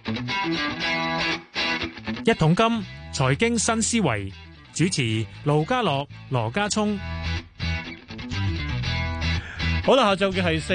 一桶金財經新思維，主持盧家樂、羅家聰。 好啦，下晝嘅係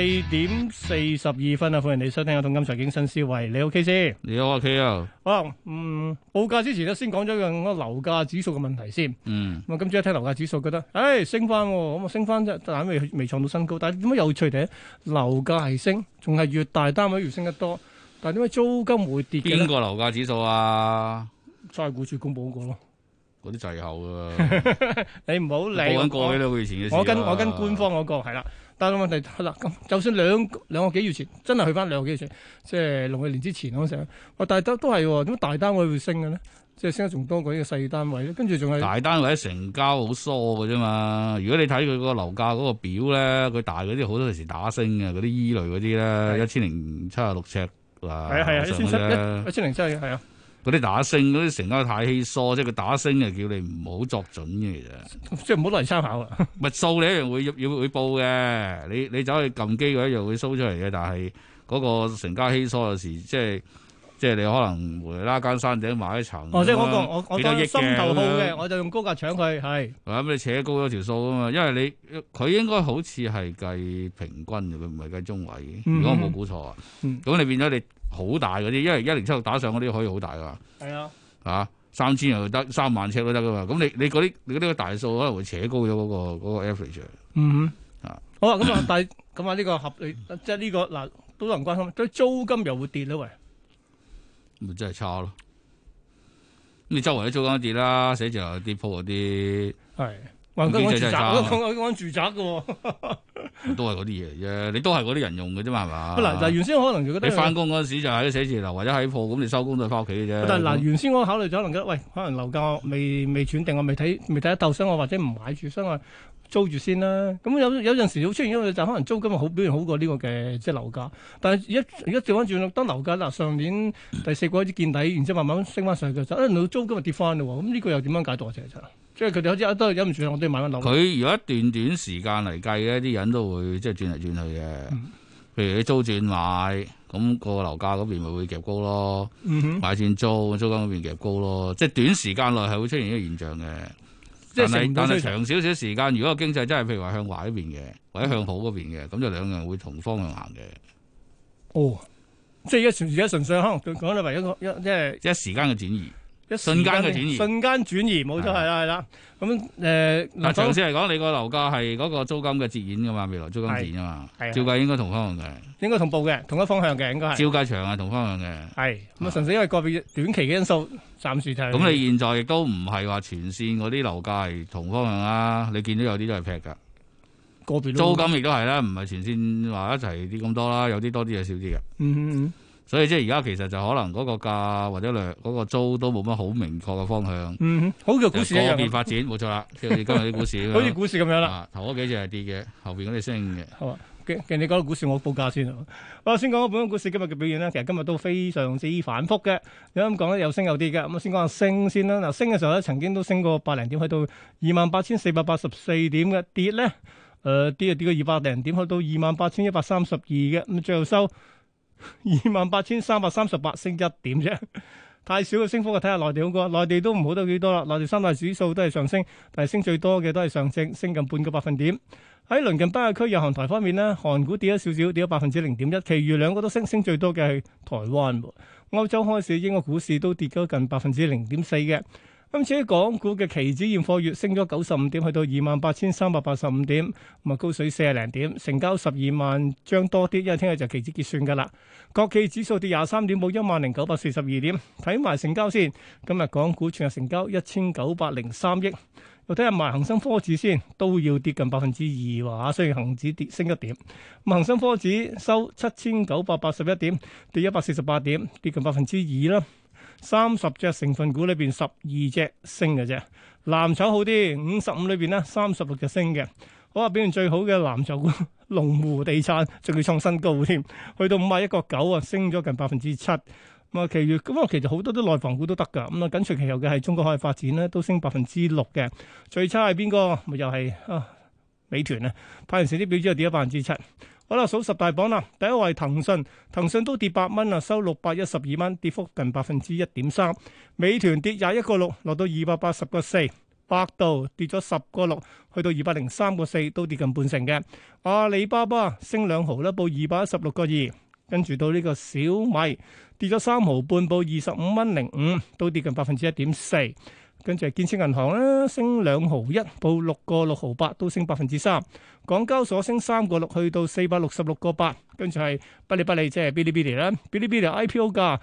4:42啊！歡迎你收聽《一桶金財經新思維》。你 OK 先？ 你好啊 K 啊！ 好，報價之前咧，先講咗個樓價指數嘅問題先。咁啊，今朝一睇樓價指數，覺得升翻，咁啊升翻啫，但係未創到新高。但係點解有趣嘅？樓價係升，仲係越大單位越升得多。但係點解租金會跌嘅咧？ 邊個樓價指數啊？ 差估署公佈嗰個咯。 嗰啲滯後啊！ 你唔好理。 報緊過幾兩個月前嘅事。 我跟官方嗰個係啦。但係問題係啦，咁就算兩個幾月前，真係去翻兩個幾月前，即係農曆年之前嗰陣，但係都係喎，點解大單位會升嘅咧？即係升得仲多過呢個細單位咧？跟住仲係大單位成交好疏嘅啫嘛。如果你睇佢個樓價嗰個表咧，佢大嗰啲好多時打升嘅，嗰啲依類嗰啲咧，1076尺啊， 係啊，1007係啊。 嗰啲打升，嗰啲成交太稀疏，即係佢打升就叫你唔好作準嘅，其實即係唔好攞嚟參考啊！ 密數你一樣會報嘅，你走去撳機佢一樣會 show 出嚟嘅，但係嗰個成交稀疏有時即係你可能無啦啦間山頂買一層， 即係我幾多億嘅心頭好嘅，我就用高價搶佢係。 咁你扯高咗條數啊嘛，因為佢應該好似係計平均嘅，佢唔係計中位嘅。如果我冇估錯啊，咁你變咗你。好大嗰啲，因為1076打上嗰啲可以好大噶。係啊，3000又得，3萬尺都得噶嘛。咁你嗰啲大數可能會扯高咗嗰個 average。 好啊，咁啊呢個合理，即係呢個嗱都有人關心，對租金又會跌咧喂。 咪真係差咯。你周圍啲租金跌啦，寫字樓跌鋪嗰啲。係。講住宅嘅都係嗰啲嘢啫，你都係嗰啲人用嘅啫嘛，係嘛？ 嗱，原先可能就覺得你翻工嗰陣時就喺寫字樓或者喺鋪，咁你收工都係翻屋企嘅啫。 但係嗱，原先我考慮咗，可能覺得喂，可能樓價未轉定，我未睇得鬥，所以我或者唔買住，所以我租住先啦。咁有陣時會出現一個就可能租金好表現好過呢個嘅即係樓價。但係而家調翻轉，當樓價嗱上年第四季開始見底，然之後慢慢升翻上去嘅時候，到租金就跌翻嘞喎。咁呢個又點樣解讀啊？即係佢哋好似都忍唔住，我都要買翻樓。 佢如果一段時間嚟計咧，啲人都會即係轉嚟轉去嘅。譬如你租轉買，咁個樓價嗰邊咪會夾高咯。買轉租，租金嗰邊夾高咯。即係短時間內係會出現呢個現象嘅。但係長少少時間，如果個經濟真係譬如話向壞嗰邊嘅，或者向好嗰邊嘅，咁就兩樣會同方向行嘅。 即係而家純粹可能講你為一個即係一時間嘅轉移。瞬間嘅轉移， 冇錯係啦。咁嗱，長線嚟講，你個樓價係嗰個租金嘅折現噶嘛，未來租金折現啊嘛，照計應該同方向嘅， 應該同步嘅，同一方向嘅應該係。 照計長係同方向嘅， 係咁啊，純粹因為個別短期嘅因素，暫時睇。 咁你現在亦都唔係話全線嗰啲樓價係同方向啦，你見到有啲都係劈噶， 個別租金亦都係啦，唔係全線話一齊跌咁多啦，有啲多啲，有少啲嘅。所以即係而家其實就可能嗰個價或者嗰個租都冇乜好明確嘅方向。 好嘅股市一樣。 個別發展冇錯啦，即係今日啲股市。 好似股市咁樣啦。 頭嗰幾隻係跌嘅，後邊嗰啲升嘅。 好啊，既然你講到股市，我報價先。我先講本港股市今日嘅表現啦。其實今日都非常之反覆嘅。有咁講咧，有升有跌嘅。咁先講下升先啦。嗱，升嘅時候咧，曾經都升過百零點，去到28,484點嘅。跌咧，跌過200零點，去到28,132嘅。咁最後收28,338，升1點啫，太少嘅升幅。睇下內地好過，內地都唔好得幾多啦。內地三大指數都係上升，但係升最多嘅都係上證，升近半個百分點。喺鄰近北亞區日韓台方面呢，韓股跌咗少少，跌咗0.1%，其餘兩個都升，升最多嘅係台灣。歐洲開市，英國股市都跌咗近0.4%嘅。今次喺港股嘅期指現貨月升咗95點，去到28,385點，咁啊高水40零點，成交12萬張多啲，因為聽日就期指結算噶啦。國企指數跌23點，報10,942點。睇埋成交先，今日港股全日成交1,903億。又睇下埋恒生科指先，都要跌近2%喎，雖然恒指跌升1點。咁恒生科指收7,981點，跌148點，跌近2%啦。30隻成分股裏邊12隻升嘅啫，藍籌好啲，55裏邊呢36隻升嘅。好啊，表現最好嘅藍籌股龍湖地產仲要創新高添，去到51.9啊，升咗近7%。咁啊，其餘咁啊，其實好多都內房股都得㗎。咁啊，緊隨其後嘅係中國海外發展咧，都升6%嘅。最差係邊個？咪又係美團啊，派完成績表之後跌咗7%。 好啦，數十大榜啦，第一位騰訊，騰訊都跌8蚊啊，收612蚊，跌幅近1.3%。美團跌21.6，落到280.4。百度跌咗10.6，去到203.4，都跌近半成嘅。阿里巴巴升2毫啦，報216.2。跟住到呢個小米跌咗3毫半，報25.05，都跌近1.4%。跟住係建設銀行啦，升2毫1，報6.6毫8，都升3%。港交所升3.6，去到466.8。跟住係嗶哩嗶哩，即係嗶哩嗶哩啦，嗶哩嗶哩 IPO 價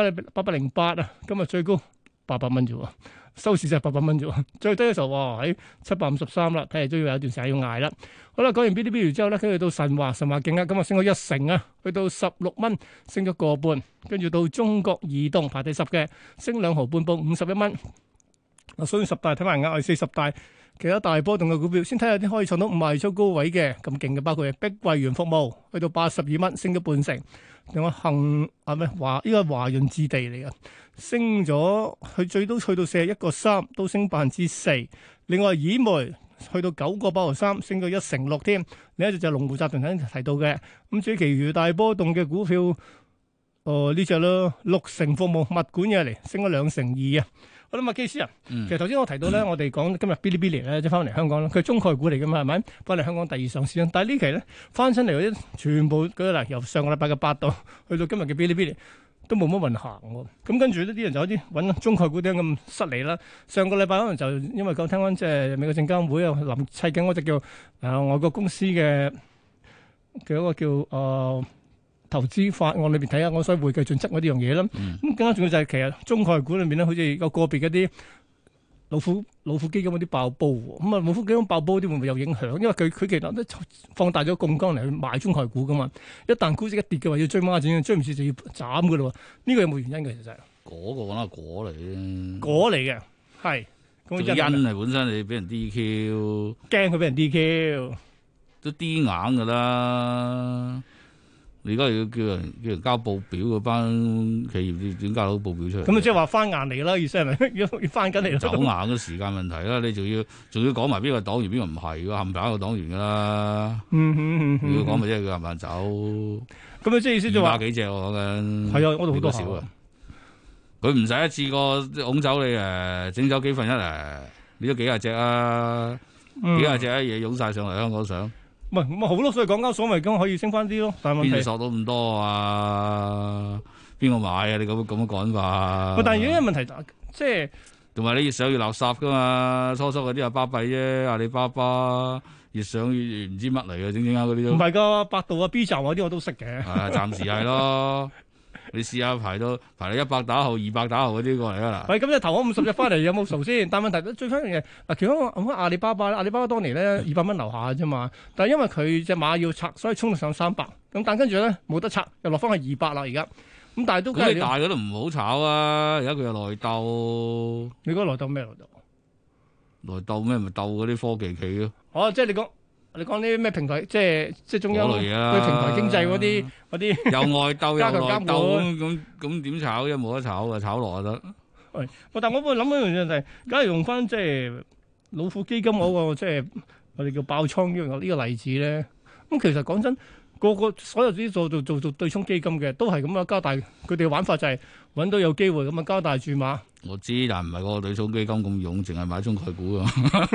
808啊，今日最高800蚊啫喎。收市就係800蚊啫喎，最低嘅時候哇喺753啦，睇嚟都要有一段時間要捱啦。好啦，講完嗶哩嗶哩之後咧，跟住到神華勁啊，今日升咗1成啊，去到16蚊，升咗個半。跟住到中國移動排第10嘅，升2毫半，報51蚊。嗱，所以10大睇埋額外40大，其他大波動嘅股票，先睇下啲可以創到5萬出高位嘅咁勁嘅，包括係碧桂園服務，去到82蚊，升咗半成。另外恒啊咩華呢個華潤置地嚟嘅。升咗，佢最多去到41.3，都升4%。另外，以煤去到9.8毫3，升咗1.6%添。另一隻就係龍湖集團頭先提到嘅。咁至於其餘大波動嘅股票，呢隻咯，6成服務物管嘢嚟，升咗2.2%啊。好啦，麥基斯啊，其實頭先我提到咧，我哋講今日嗶哩嗶哩咧，即係翻嚟香港啦，佢係中概股嚟噶嘛，係咪？翻嚟香港第2上市啦。但係呢期咧翻親嚟嗰啲，全部舉個例，由上個禮拜嘅8度去到今日嘅嗶哩嗶哩。都冇乜運行喎，咁跟住呢啲人就有啲揾中概股點咁失禮啦。上個禮拜可能就因為講聽講即係美國證監會啊臨砌緊嗰隻叫外國公司嘅一個叫投資法案裏邊睇下我所謂會計準則嗰啲樣嘢啦。咁更加重要就係其實中概股裏面咧，好似有個別嗰啲老虎基金嗰啲爆煲喎，咁啊老虎基金爆煲啲會唔會有影響？因為佢其實都放大咗槓桿嚟去買中概股噶嘛，一旦估值一跌嘅話，要追孖展，追唔切就要斬噶咯。呢個有冇原因嘅？其實嗰個講係果嚟嘅， 果嚟嘅係。 個因係本身你俾人 DQ， 驚佢俾人 DQ， 都 D 硬噶啦。你而家要叫人交報表嗰班企業點交到報表出嚟？ 咁啊，即係話翻硬嚟啦，意思係咪要翻緊嚟？ 走硬嘅時間問題啦，你仲要講埋邊個黨員邊個唔係㗎，冚唪唥個黨員㗎啦。要講咪即係佢冚唪唥走。咁啊，即係意思就話200幾隻我講緊。 係啊，我度好多少啊。 佢唔使一次過拱走你整走幾分一你都幾廿隻啊，幾廿隻嘢湧晒上嚟香港上。 唔係咁好咯，所以港交所咪咁可以升翻啲咯。但係問題邊度索到咁多啊？邊個買啊？你咁樣講法？ 但係有一個問題即係同埋你越上越垃圾噶嘛？初嗰啲係巴閉啫，阿里巴巴越上越唔知乜嚟嘅，整下嗰啲都唔係噶，百度啊 B 站嗰啲我都識嘅。 係暫時係咯。你試下排到100打後200打後嗰啲過嚟啦。 喂，咁你投咗50隻翻嚟有冇數先？但係問題最翻嘅嗱，其中我阿里巴巴當年咧200蚊樓下啫嘛。但係因為佢隻馬要拆，所以衝到上300。咁但跟住咧冇得拆，又落翻去200啦而家。咁但係都咁你大嗰都唔好炒啊！而家佢有內鬥。 你講內鬥咩內鬥？ 內鬥咩？咪鬥嗰啲科技企咯。 哦，即係你講啲咩平台，即係中央對平台經濟嗰啲有外鬥有內鬥咁點炒啫？冇得炒嘅，炒落就得。 喂，但我會諗一樣嘢就係，假如用翻即係老虎基金嗰個即係我哋叫爆倉呢個例子咧，咁其實講真，個所有啲做對沖基金嘅都係咁樣加大佢哋嘅玩法，就係揾到有機會咁啊加大注碼。 我知，但唔係個對沖基金咁勇，淨係買中概股啊。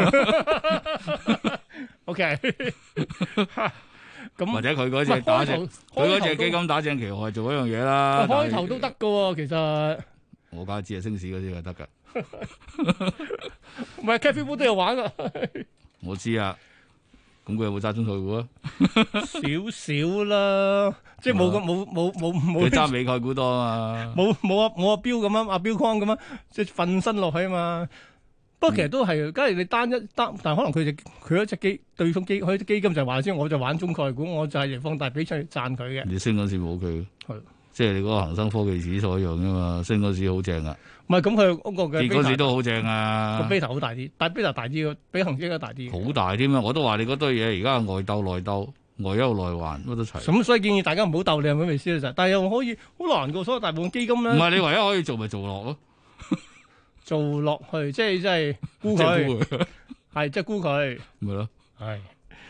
OK，咁或者佢嗰隻打正，佢嗰隻基金打正旗號做一樣嘢啦。 開頭都得噶喎，其實我梗係知係升市嗰啲就得噶。 唔係 Cathie Wood 都有玩噶。 我知啊，咁佢有冇揸中概股啊？ 少少啦，即係冇。 佢揸美概股多啊嘛。 冇阿標咁樣，阿標框咁樣，即係瞓身落去啊嘛。不過其實都係，假如你單，但可能佢一隻對沖基金就係話先，我就玩中概股，我就係放大比出嚟賺佢嘅。 你升嗰時冇佢，即係你嗰個恒生科技指數一樣啫嘛，升嗰時好正啊。 唔係咁，佢嗰個嘅跌嗰時都好正啊。 個 beta 好大啲，但係 beta 大啲嘅，比恒指應該大啲。 好大添啊！我都話你嗰堆嘢而家外鬥內鬥，外憂內患乜都齊。 咁所以建議大家唔好鬥，你係咪意思咧？但係又可以好難過，所有大部分基金咧。 唔係你唯一可以做咪做落咯。 做落去，即係沽佢，係即係沽佢， 咪咯， 係。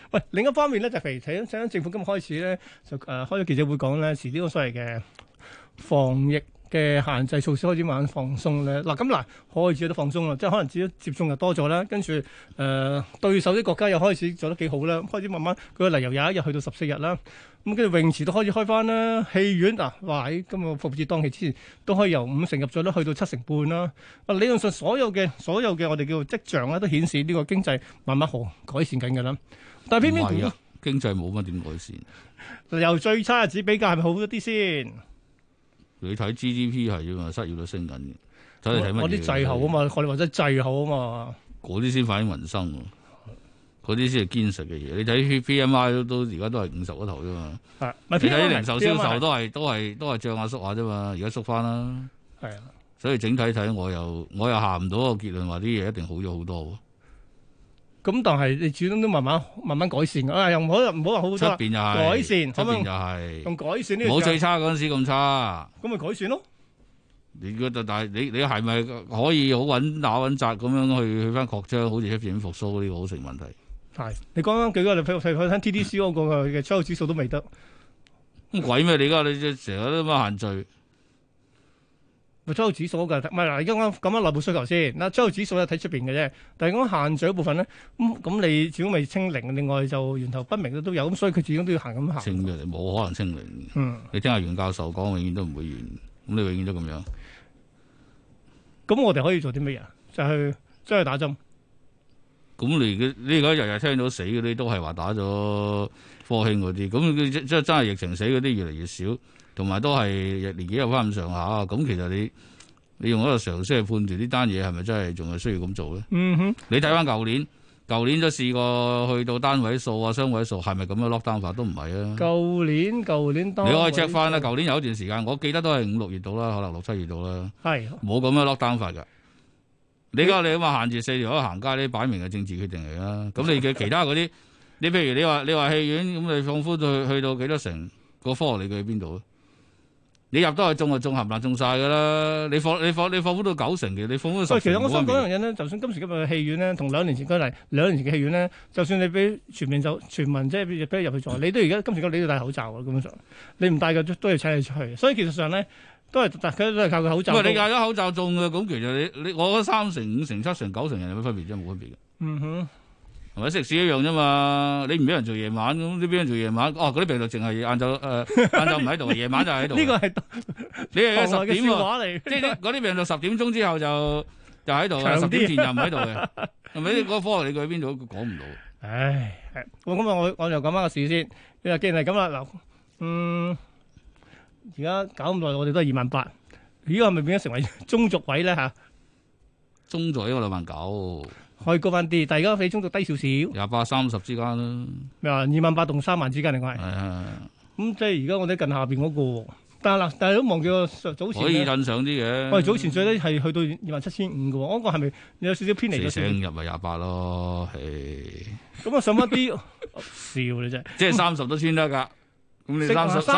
喂，另一方面咧就譬如睇緊政府今日開始咧就開咗記者會講咧，遲啲個所謂嘅防疫嘅限制措施開始慢慢放鬆咧。嗱咁嗱開始都放鬆啦，即係可能自己接種又多咗啦，跟住對手啲國家又開始做得幾好啦，開始慢慢佢個例由有一日去到14日啦。咁跟住泳池都開始開翻啦，戲院嗱話喺今個復活節檔期之前都可以由50%入咗，都去到70%啦。理論上所有嘅我哋叫做跡象咧，都顯示呢個經濟慢慢好改善緊㗎啦。但係偏偏經濟冇乜點改善， 由最差日子比較係咪好咗啲先？ 你睇 GDP 係啫嘛，失業率升緊嘅。睇你睇乜嘢？ 我啲滯後啊嘛，我哋話齋滯後啊嘛。 嗰啲先反映民生喎。嗰啲先係堅實嘅嘢，你睇 PMI 都而家都係50嗰頭啫嘛。你睇零售銷售都係漲下縮下啫嘛，而家縮翻啦。係啊，所以整體睇我又下唔到個結論話啲嘢一定好咗好多。 咁但係你始終都慢慢改善㗎，又唔好話好多。出邊又係改善， 出邊又係用改善呢？ 冇最差嗰陣時咁差。 咁咪改善咯。 但係你係咪可以好穩打穩紮咁樣去翻擴張，好似出邊復甦呢個好成問題？ 係，你講緊幾個？你譬如睇 TDC 嗰個嘅出口指數都未得， 咁鬼咩？你而家你成日都咁限聚， 咪出口指數嘅，唔係嗱，而家講緊內部需求先。嗱，出口指數咧睇出邊嘅啫，但係講限聚嗰部分咧，咁你始終未清零，另外就源頭不明都有，咁所以佢始終都要行咁行。 清嘅，冇可能清零。你聽下袁教授講，永遠都唔會完，咁你永遠都咁樣。 咁我哋可以做啲乜嘢？就去將去打針。 咁你而家日日聽到死嗰啲都係話打咗科興嗰啲，咁真係疫情死嗰啲越嚟越少，同埋都係年紀有翻咁上下。咁其實你用一個常識去判斷呢單嘢係咪真係仲係需要咁做咧？你睇翻舊年都試過去到單位數啊、雙位數，係咪咁樣 lock down 法都唔係啊？舊年你可以 check 翻啦。舊年有一段時間，我記得都係5、6月度啦，可能6、7月度啦，係冇咁樣 lock down 法㗎。你咁你話限住4條友行街，呢擺明係政治決定嚟啦。咁你嘅其他嗰啲，你譬如你話戲院咁，你放寬去到幾多成個科學理據喺邊度啊？你入都係中就中，冚唪唥中晒噶啦。你放寬到90成嘅，你放寬到10成。 其實我想講一樣嘢咧，就算今時今日嘅戲院咧，同2年前舉例，2年前嘅戲院咧，就算你俾全民即係俾你入去坐，你都而家今時今日你都要戴口罩嘅，根本上你唔戴嘅都要請你出去。所以其實上咧。都係靠個口罩。喂，你戴咗口罩中嘅，咁其實你我覺得3成、5成、7成、9成人有咩分別啫？冇分別嘅。係咪食肆一樣啫嘛？你唔俾人做夜晚咁，你俾人做夜晚，嗰啲病毒淨係晏晝唔喺度，夜晚就喺度。呢個係你係10點喎，即係嗰啲病毒10點鐘之後就喺度，10點前就唔喺度嘅，係咪？嗰個科學理據喺邊度講唔到？唉，咁我就講翻個事先。你話既然係咁啦，嗱，而家搞咁耐，我哋都係28,000，呢個係咪變咗成為中軸位咧嚇？中軸應該29,000，可以高翻啲，但係而家比中軸低少少，28、30之間啦。咩話28,000同3萬之間，另外係。咁即係而家我哋近下邊嗰個，但係都忘記個早前可以印上啲嘅。我哋早前最低係去到27,500嘅喎，嗰個係咪有少少偏離咗？4成入咪28咯，係。咁啊上翻啲笑你真係，即係30都穿得㗎。咁你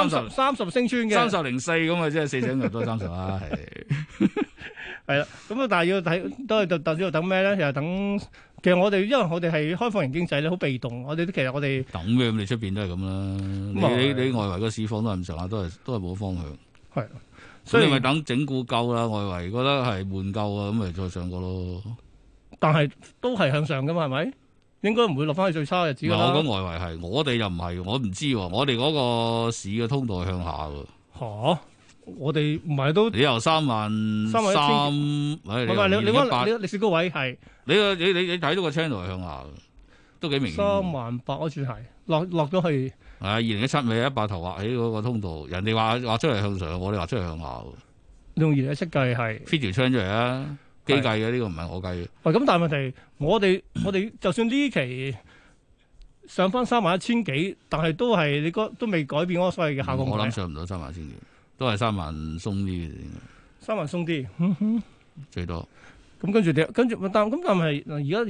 30升穿嘅30.04咁啊，即係4成入都30啦，係係啦。咁啊，但係要睇都係等咩咧？又等其實我哋因為我哋係開放型經濟咧，好被動。我哋其實我哋等咩？咁你出邊都係咁啦。你外圍個市況都係咁上下，都係冇方向。係，所以你咪等整固夠啦。外圍覺得係悶夠啊，咁咪再上過咯。但係都係向上噶嘛？係咪？應該唔會落翻去最差嘅日子㗎啦。我講外圍係，我哋又唔係，我唔知喎。我哋嗰個市嘅通道係向下喎。嚇！我哋唔係都你由3萬3，唔係你歷史高位係你睇到個 channel 係向下，都幾明顯。38000嗰處係落咗去。係2017咪100頭畫起嗰個通道，人哋話出嚟向上，我哋話出嚟向下。用2017計係 fit 條 channel 出嚟啊！機計嘅呢個唔係我計嘅。喂，咁但係問題，我哋就算呢期上翻31000幾，但係都係你都未改變嗰個所謂嘅下降。我諗上唔到31000幾，都係3萬鬆啲嘅。3萬鬆啲，最多。咁跟住但係而家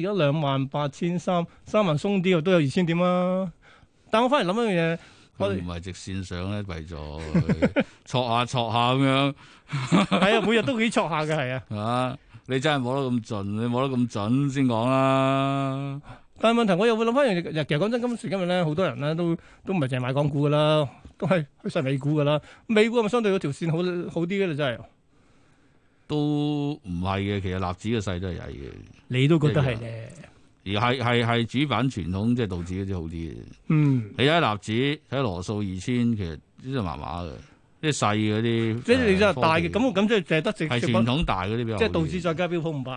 28300，3萬鬆啲都有2000點啦。但我翻嚟諗一樣嘢，我哋唔係直線上咧，為咗挫下咁樣。係啊，每日都幾挫下嘅，係啊。你真係摸得咁盡，你摸得咁準先講啦。 但係問題我又會諗翻樣嘢，其實講真，今時今日咧，好多人咧都唔係淨係買港股噶啦，都係去晒美股噶啦。美股係咪相對嗰條線好啲嘅啦？真係都唔係嘅，其實納指嘅勢都係曳嘅。 你都覺得係咧？ 而係主板傳統即係道指嗰啲好啲嘅。你睇納指睇羅素2000，其實呢啲麻麻嘅，啲細嗰啲。即係你真係大嘅， 咁即係淨係得係傳統大嗰啲比較。 即係道指再加標普500。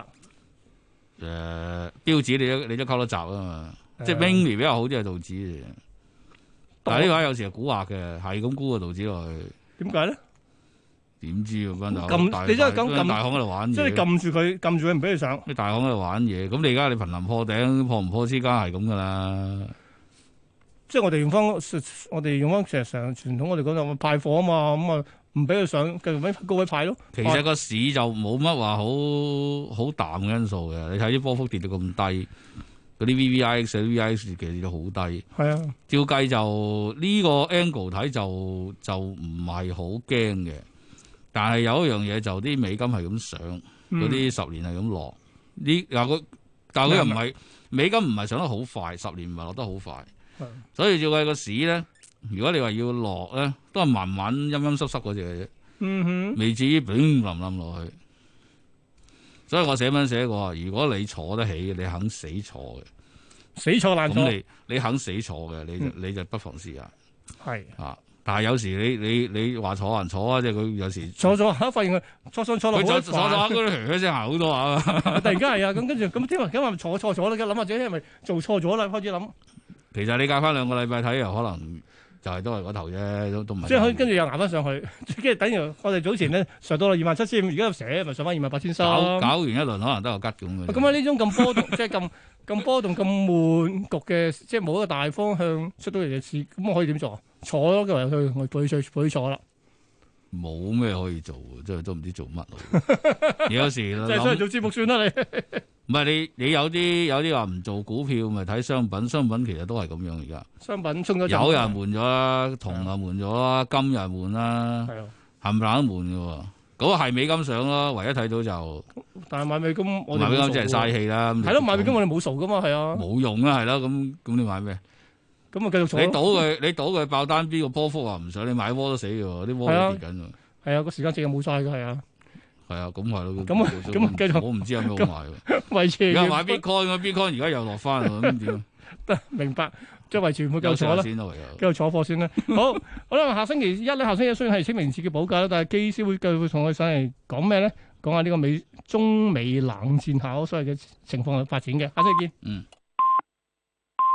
標指你都溝得雜啊嘛，即係 mini 比較好啲係道指嘅。但係呢個有時係蠱惑嘅，係咁估個道指落去。 點解咧？ 點知啊？ 你真係咁大行喺度玩嘢， 即係你撳住佢唔俾佢上。 啲大行喺度玩嘢，咁你而家你瀕臨破頂，破唔破之間係咁噶啦。 即係我哋用翻成日傳統，我哋講就派貨啊嘛，咁啊唔俾佢上，繼續喺高位派咯。 其實個市就冇乜話好淡嘅因素嘅，你睇啲波幅跌到咁低，嗰啲 VVIX 其實跌到好低。係啊，照計就呢個 angle 睇就唔係好驚嘅。但係有一樣嘢就啲美金係咁上，嗰啲10年係咁落。但係佢又唔係美金唔係上得好快，10年唔係落得好快。所以照計個市咧，如果你話要落咧，都係慢慢陰陰濕濕嗰隻嘅啫。未至於冧落去。所以我寫文寫過，如果你坐得起，你肯死坐嘅， 死坐爛坐。 咁你肯死坐嘅，你就不妨試下。 係啊。但係有時你話坐還坐啊，即係佢有時坐下發現佢坐落佢坐下嗰啲噓聲行好多下。 突然間係啊，咁跟住咁聽話坐錯咗啦，諗下自己係咪做錯咗啦？開始諗。 其實你隔翻2個禮拜睇，又可能就係都係嗰頭啫，都唔係。 即係可以跟住又捱翻上去，跟住等於我哋早前咧上到啦27,500，而家又寫咪上翻28,300。搞完一輪可能都有吉咁嘅。 咁啊呢種咁波動，即係咁波動咁悶局嘅，即係冇一個大方向出到嚟嘅事，咁我可以點做啊？坐咯，佢話我佢坐啦。 冇咩可以做，真係都唔知做乜咯。有時即係出嚟做節目算啦，你。 唔係你有啲話唔做股票，咪睇商品。商品其實都係咁樣而家。 商品衝咗。 有人換咗啦，銅又換咗啦，金又換啦，冚唪唥都換嘅喎。嗰個係美金上咯，唯一睇到就。但係買美金，買美金真係嘥氣啦。係咯， 買美金我哋冇數噶嘛，係啊。 冇用啦，係啦，咁你買咩？ 咁啊，繼續坐。 你賭佢爆單邊個波幅啊？唔想你買窩都死嘅喎，啲窩都跌緊喎。係啊， 個時間值又冇晒嘅，係啊。 係啊，咁係咯。 咁繼續。 我唔知有咩好買喎。 維持。 而家買 Bitcoin 而家又落翻喎，咁點？ 得明白，即係維持唔會繼續坐啦。繼續坐貨先啦。好啦，下星期一雖然係清明節嘅補假啦，但係機師會繼續同我哋上嚟講咩咧？講下呢個中美冷戰下所謂嘅情況嘅發展嘅。下星期見。